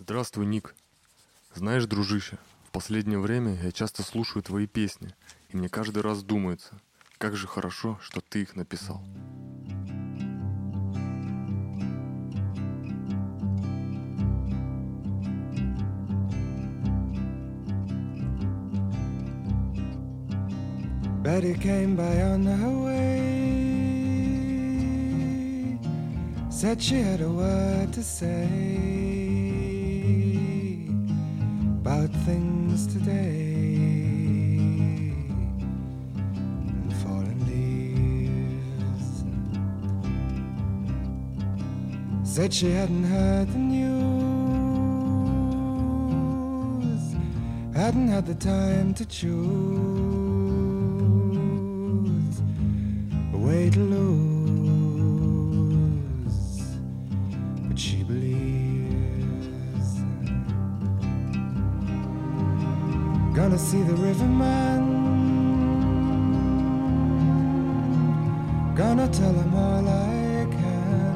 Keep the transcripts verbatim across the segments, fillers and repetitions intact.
Здравствуй, Ник. Знаешь, дружище, в последнее время я часто слушаю твои песни, и мне каждый раз думается, как же хорошо, что ты их написал. Betty came by on her way, said she had a word to say about things today and fallen leaves. Said she hadn't heard the news, hadn't had the time to choose way to lose, but she believes. Gonna see the riverman, gonna tell him all I can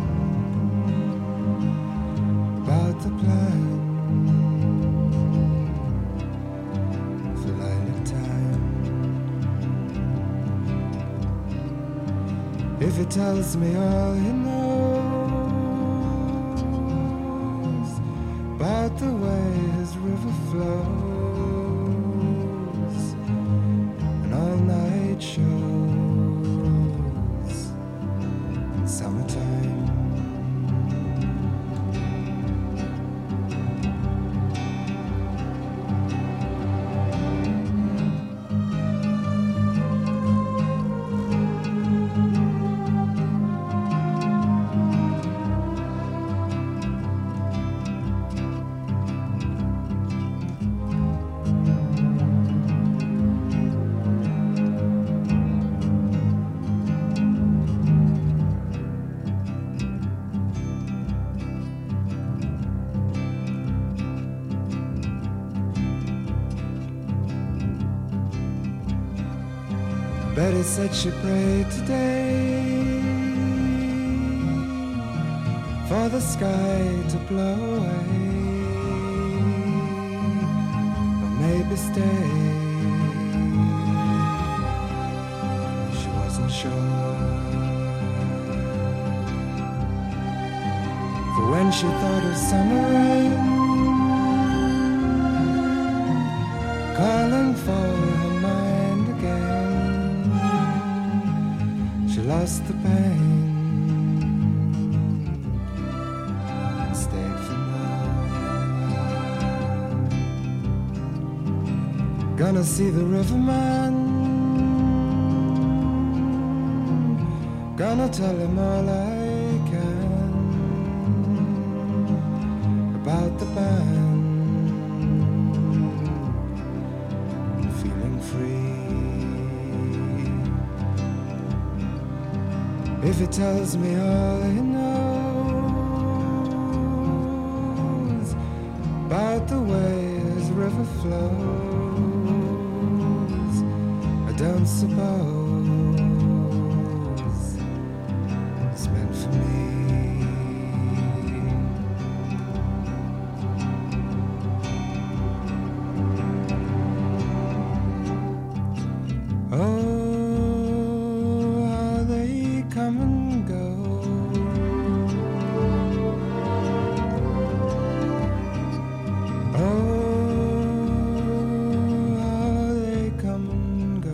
about the plan for lilac time. If he tells me all he knows about the way his river flows and all night shows in summertime. Betty said she prayed today for the sky to blow away, or maybe stay. She wasn't sure, for when she thought of summer rain calling for her mind again, she lost the pain and stayed for more. Gonna see the riverman, gonna tell him all I can about the band, feeling free. If he tells me all he knows about the way his river flows, I don't suppose it's meant for me. Oh, come and go. Oh, how they come and go.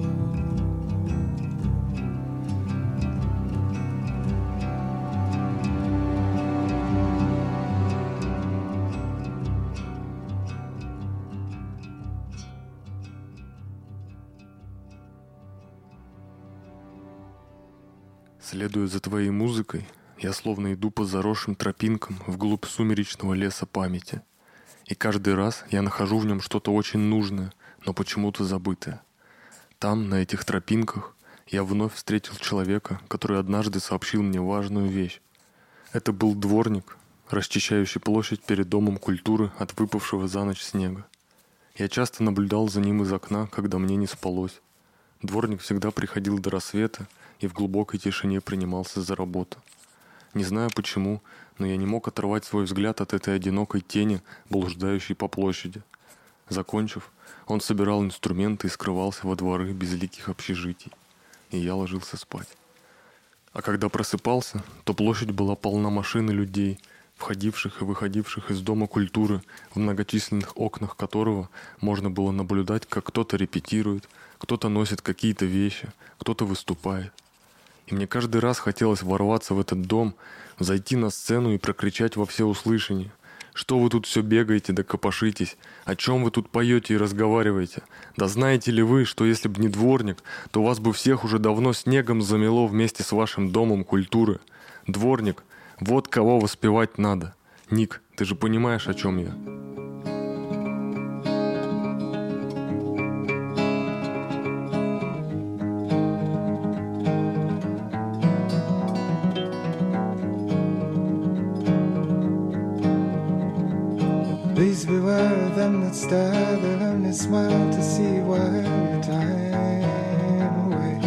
Следуя за твоей музыкой, я словно иду по заросшим тропинкам вглубь сумеречного леса памяти. И каждый раз я нахожу в нем что-то очень нужное, но почему-то забытое. Там, на этих тропинках, я вновь встретил человека, который однажды сообщил мне важную вещь. Это был дворник, расчищающий площадь перед Домом культуры от выпавшего за ночь снега. Я часто наблюдал за ним из окна, когда мне не спалось. Дворник всегда приходил до рассвета и в глубокой тишине принимался за работу. Не знаю почему, но я не мог оторвать свой взгляд от этой одинокой тени, блуждающей по площади. Закончив, он собирал инструменты и скрывался во дворы безликих общежитий. И я ложился спать. А когда просыпался, то площадь была полна машин и людей, входивших и выходивших из Дома культуры, в многочисленных окнах которого можно было наблюдать, как кто-то репетирует, кто-то носит какие-то вещи, кто-то выступает. И мне каждый раз хотелось ворваться в этот дом, зайти на сцену и прокричать во всеуслышание: «Что вы тут все бегаете да копошитесь? О чем вы тут поете и разговариваете? Да знаете ли вы, что если бы не дворник, то вас бы всех уже давно снегом замело вместе с вашим Домом культуры? Дворник, вот кого воспевать надо. Ник, ты же понимаешь, о чем я?» Please beware of them that stare, they'll only smile to see you while your time away.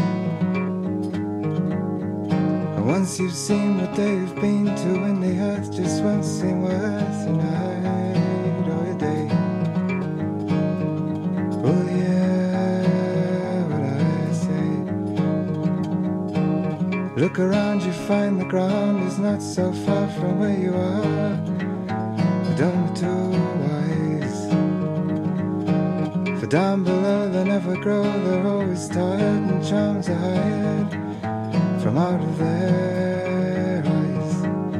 And once you've seen what they've been to, and the earth just won't seem worth a night or a day. Oh yeah, what I say. Look around, you find the ground is not so far from where you are. Don't be too wise, for down below they never grow, they're always tired and charms are hired from out of their eyes.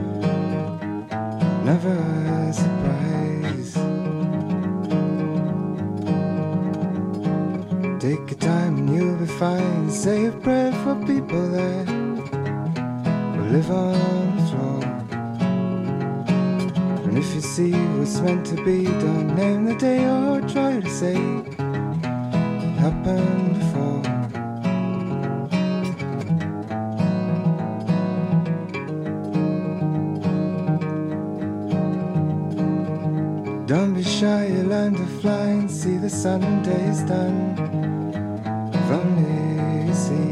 Never a surprise. Take your time and you'll be fine. Say a prayer for people that will live on the floor. And if you see what's meant to be, don't name the day or try to say it happened before. Don't be shy, you learn to fly and see the Sunday's done. If only you see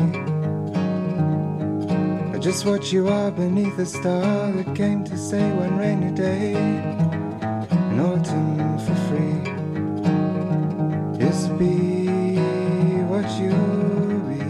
just what you are beneath a star that came to say one rainy day in autumn for free. Just be what you be.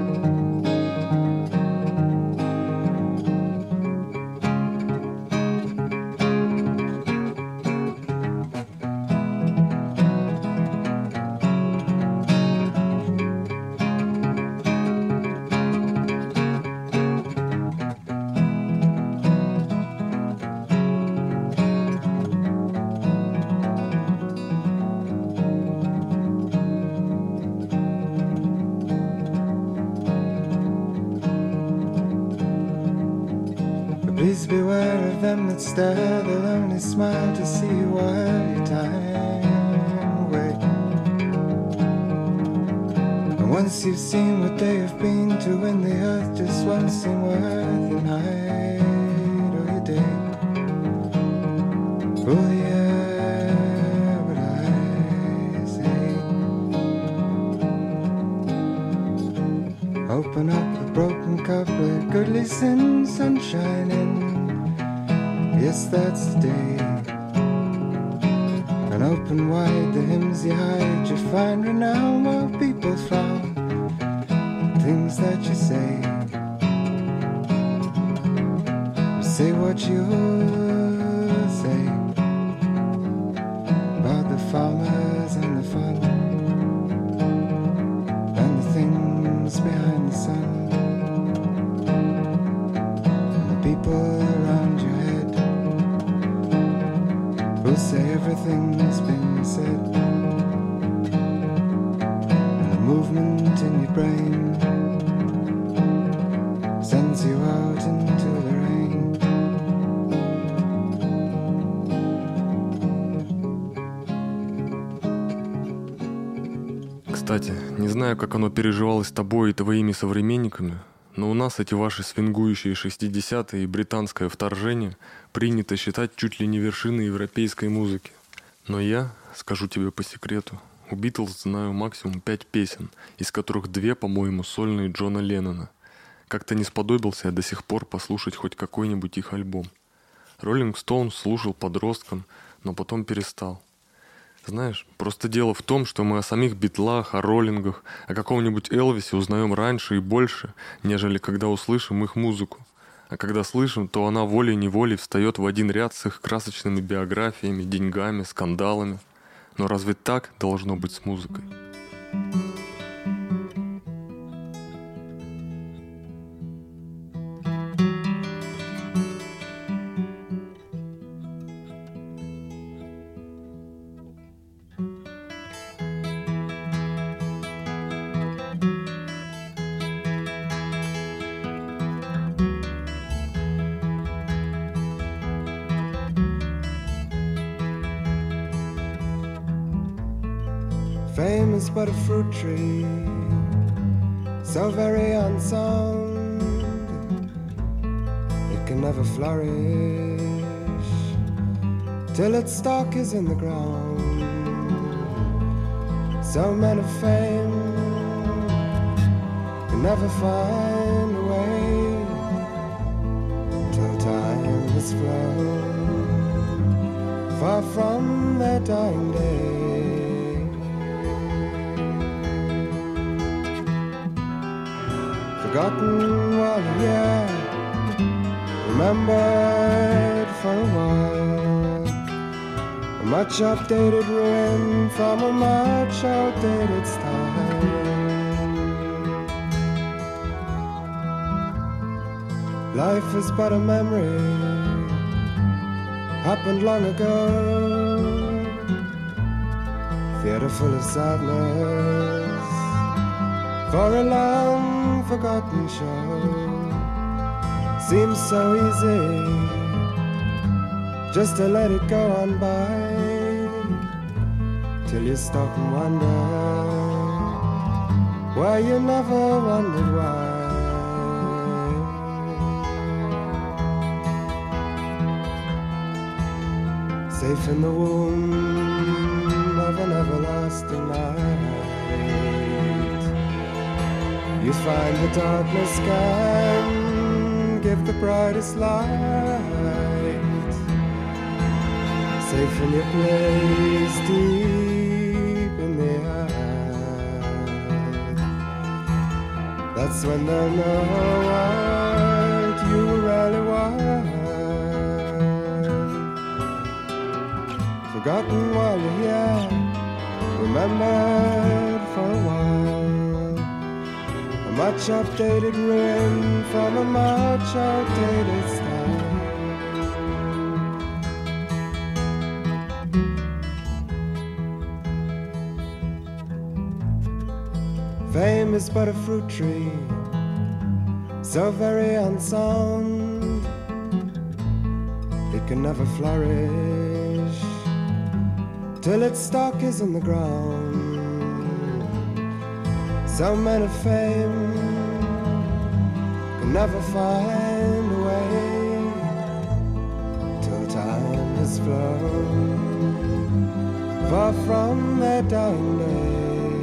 Please beware of them that stare, they'll only smile to see you while your time away. And once you've seen what they have been to, when the earth just won't seem worth a night or a day. Oh yeah, what I say. Open up a broken cup, let good listen, sunshine in. Yes, that's the day. And open wide the hymns you hide, you find renown while people frown. Things that you say, say what you say about the farmers and the fun and the things behind the sun. People around your head will say everything's been said. And the movement in your brain sends you out into the rain. Кстати, не знаю, как оно переживалось тобой и твоими современниками, но у нас эти ваши свингующие шестидесятые и британское вторжение принято считать чуть ли не вершиной европейской музыки. Но я, скажу тебе по секрету, у Битлз знаю максимум пять песен, из которых две, по-моему, сольные Джона Леннона. Как-то не сподобился я до сих пор послушать хоть какой-нибудь их альбом. Роллинг Стоунс слушал подростком, но потом перестал. Знаешь, просто дело в том, что мы о самих Битлах, о Роллингах, о каком-нибудь Элвисе узнаем раньше и больше, нежели когда услышим их музыку. А когда слышим, то она волей-неволей встает в один ряд с их красочными биографиями, деньгами, скандалами. Но разве так должно быть с музыкой? Fame is but a fruit tree, so very unsound, it can never flourish till its stalk is in the ground. So men of fame can never find a way till time has flown far from their dying day. Forgotten while you're here, remembered for a while. A much updated ruin from a much outdated style. Life is but a memory, happened long ago. Theatre full of sadness for a long forgotten show. Seems so easy just to let it go on by, till you stop and wonder why you never wondered why. Safe in the womb of an everlasting night, you find the darkness can give the brightest light. Safe in your place deep in the earth, that's when they'll know what you really want. Forgotten while you're here, remembered for a while. A much updated ruin from a much outdated style. Fame is but a fruit tree, so very unsound, it can never flourish till its stalk is in the ground. So men of fame can never find a way till time has flown far from their dying day.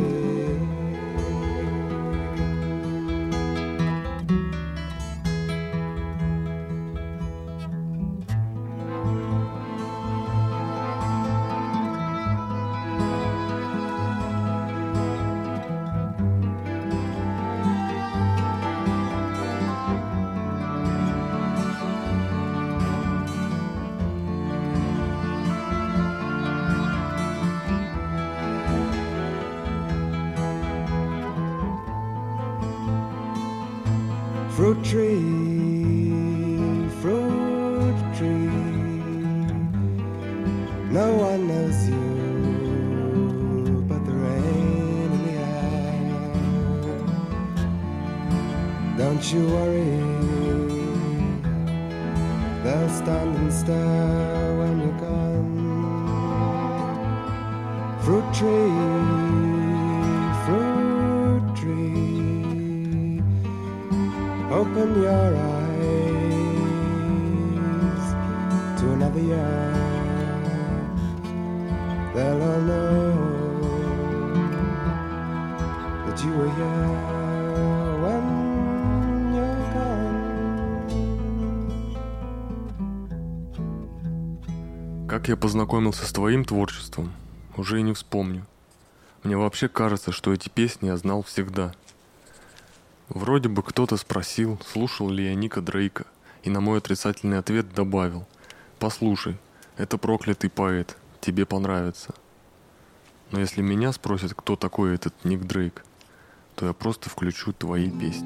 Fruit tree, fruit tree, no one knows you but the rain in the air. Don't you worry, they'll stand and stare when you're gone. Fruit tree, fruit tree, open your eyes to another year. They'll all know that you were here when you're Как я познакомился с твоим творчеством, уже и не вспомню. Мне вообще кажется, что эти песни я знал всегда. Вроде бы кто-то спросил, слушал ли я Ника Дрейка, и на мой отрицательный ответ добавил: «Послушай, это проклятый поэт, тебе понравится». Но если меня спросят, кто такой этот Ник Дрейк, то я просто включу твои песни.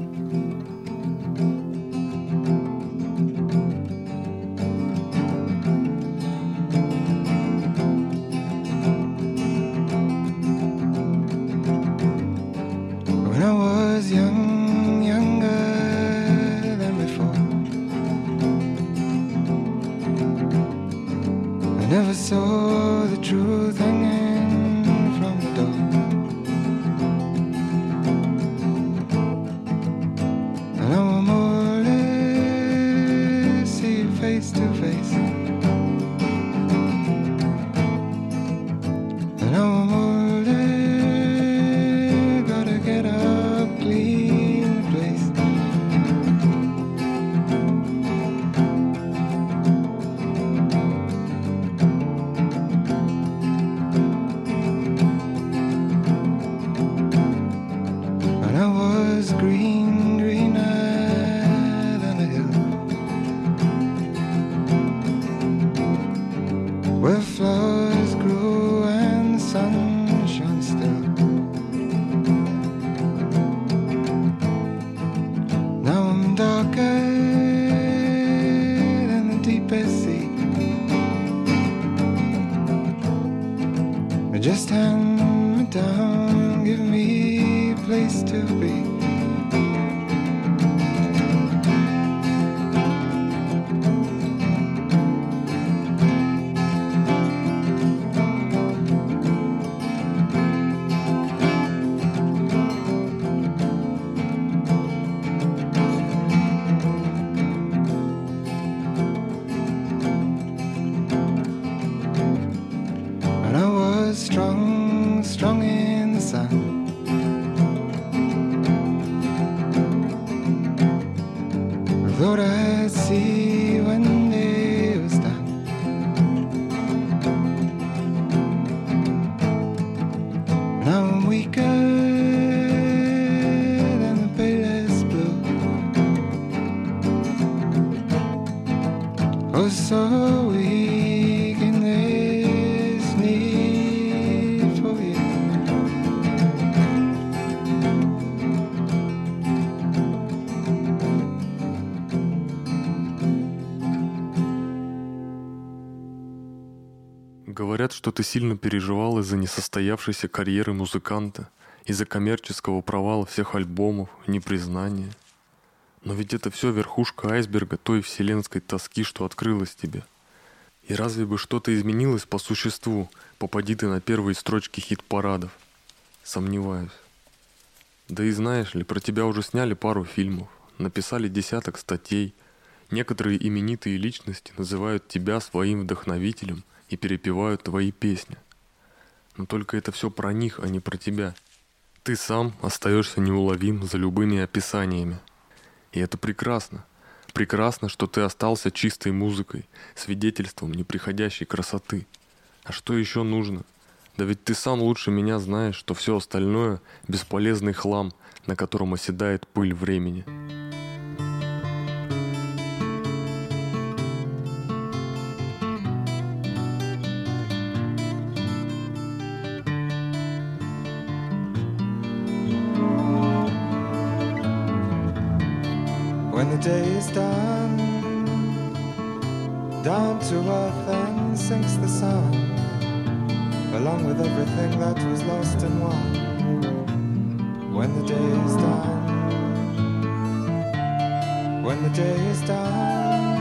When I was young, younger than before, I never saw the truth hanging from the door. And now I'm older, see you face to face. And now I'm older, gotta get up, clean the place. And I was green, greener than a hill, where flowers grew and the sun shone still. Now I'm darker than the deepest sea. Just hand me down, give me a place to be. And I was strong, strong in the sun. I thought I'd see when day was done. Now I'm weaker than the palest blue. Oh, so weak in this need for you. Говорят, что ты сильно переживал из-за несостоявшейся карьеры музыканта, из-за коммерческого провала всех альбомов, непризнания. Но ведь это все верхушка айсберга той вселенской тоски, что открылась тебе. И разве бы что-то изменилось по существу, попади ты на первые строчки хит-парадов? Сомневаюсь. Да и знаешь ли, про тебя уже сняли пару фильмов, написали десяток статей. Некоторые именитые личности называют тебя своим вдохновителем и перепевают твои песни. Но только это все про них, а не про тебя. Ты сам остаешься неуловим за любыми описаниями. И это прекрасно. Прекрасно, что ты остался чистой музыкой, свидетельством неприходящей красоты. А что еще нужно? Да ведь ты сам лучше меня знаешь, что все остальное — бесполезный хлам, на котором оседает пыль времени. When the day is done, down to earth and sinks the sun, along with everything that was lost and won. When the day is done, when the day is done,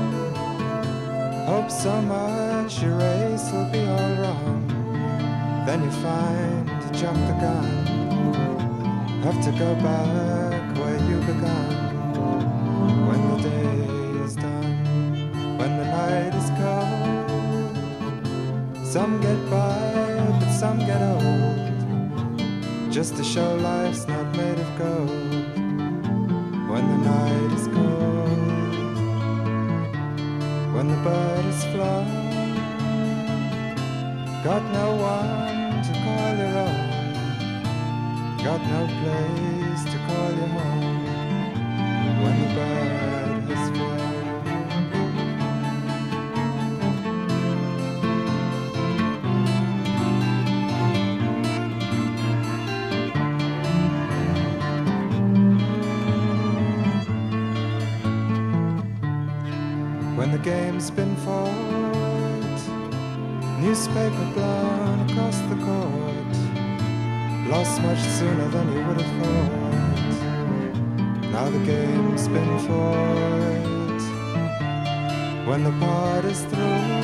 hope so much your race will be all wrong. Then you find you jump the gun, have to go back where you began. When the day is done, when the night is cold, some get by, but some get old, just to show life's not made of gold. When the night is cold, when the bird is flown, got no one to call your own, got no place to call your home when the bird has flown. When the game's been fought, newspaper blown across the court, lost much sooner than you would have thought. Now the game's been fought. When the part is through,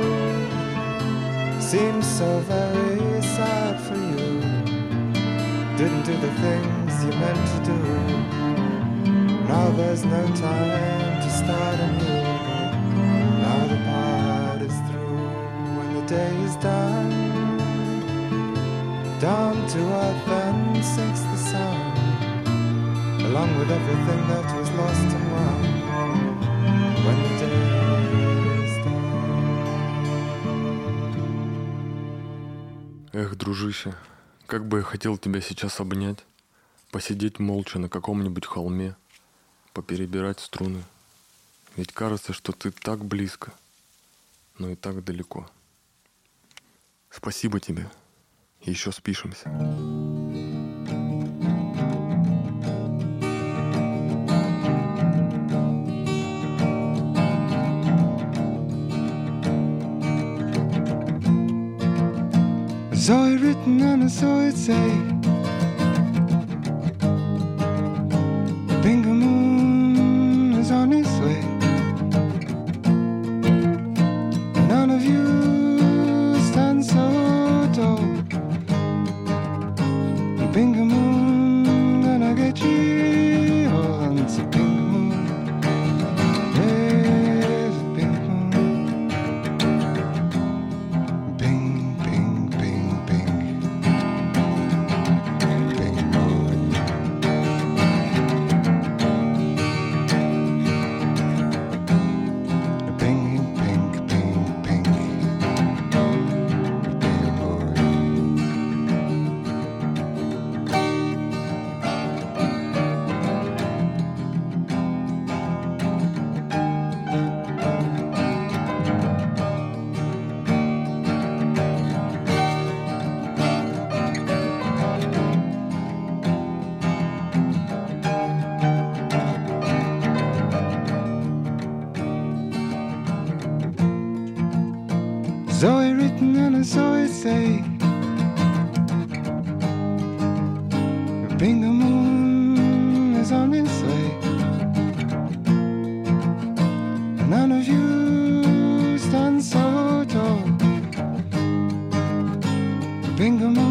seems so very sad for you. Didn't do the things you meant to do. Now there's no time to start anew. Now the part is through. When the day is done, down to earth then sinks the sun, along with everything that was lost and won. When the day is done. Эх, дружище, как бы я хотел тебя сейчас обнять, посидеть молча на каком-нибудь холме, поперебирать струны. Ведь кажется, что ты так близко, но и так далеко. Спасибо тебе. Еще спишемся. So it written and so it say, Bingo Moon is on his way. None of you stand so tall. Bingo Moon, gonna get you on. It's a Bingo Moon. There's a Bingo Moon. Bing, bing, bing, bing. Bingo Moon. Bing, bing, bing, bing. Bingo Moon. Zoe written and so it say, Bingo Moon is on its way. None of you stand so tall. Bingo Moon.